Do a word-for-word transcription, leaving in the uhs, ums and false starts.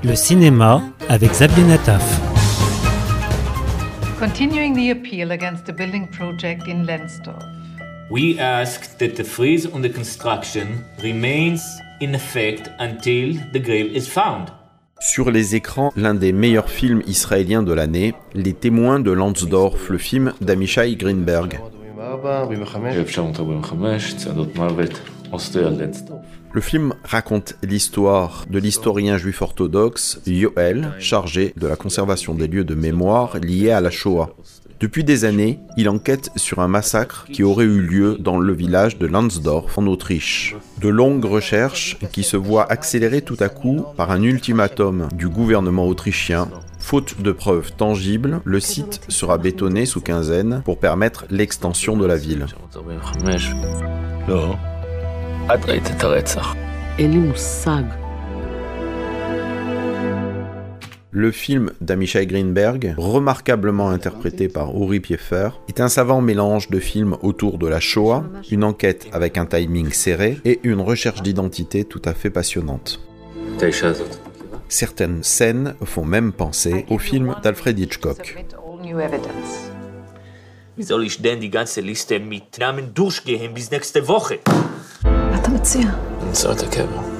Le cinéma avec Xavier Nataf. Continuing the appeal against the building project in Lensdorf. We ask that the freeze on the construction remains in effect until the grave is found. Sur les écrans, l'un des meilleurs films israéliens de l'année, Les Témoins de Lensdorf, le film d'Amishai Greenberg. Le film raconte l'histoire de l'historien juif orthodoxe Yoel, chargé de la conservation des lieux de mémoire liés à la Shoah. Depuis des années, il enquête sur un massacre qui aurait eu lieu dans le village de Lensdorf, en Autriche. De longues recherches qui se voient accélérées tout à coup par un ultimatum du gouvernement autrichien. Faute de preuves tangibles, le site sera bétonné sous quinzaine pour permettre l'extension de la ville. Le film d'Amishai Greenberg, remarquablement interprété par Uri Pieffer, est un savant mélange de films autour de la Shoah, une enquête avec un timing serré et une recherche d'identité tout à fait passionnante. Certaines scènes font même penser au film d'Alfred Hitchcock. Wie soll ich denn die ganze Liste mit Namen durchgehen bis nächste Woche? מה אתה מציע? נמצא את הקבר.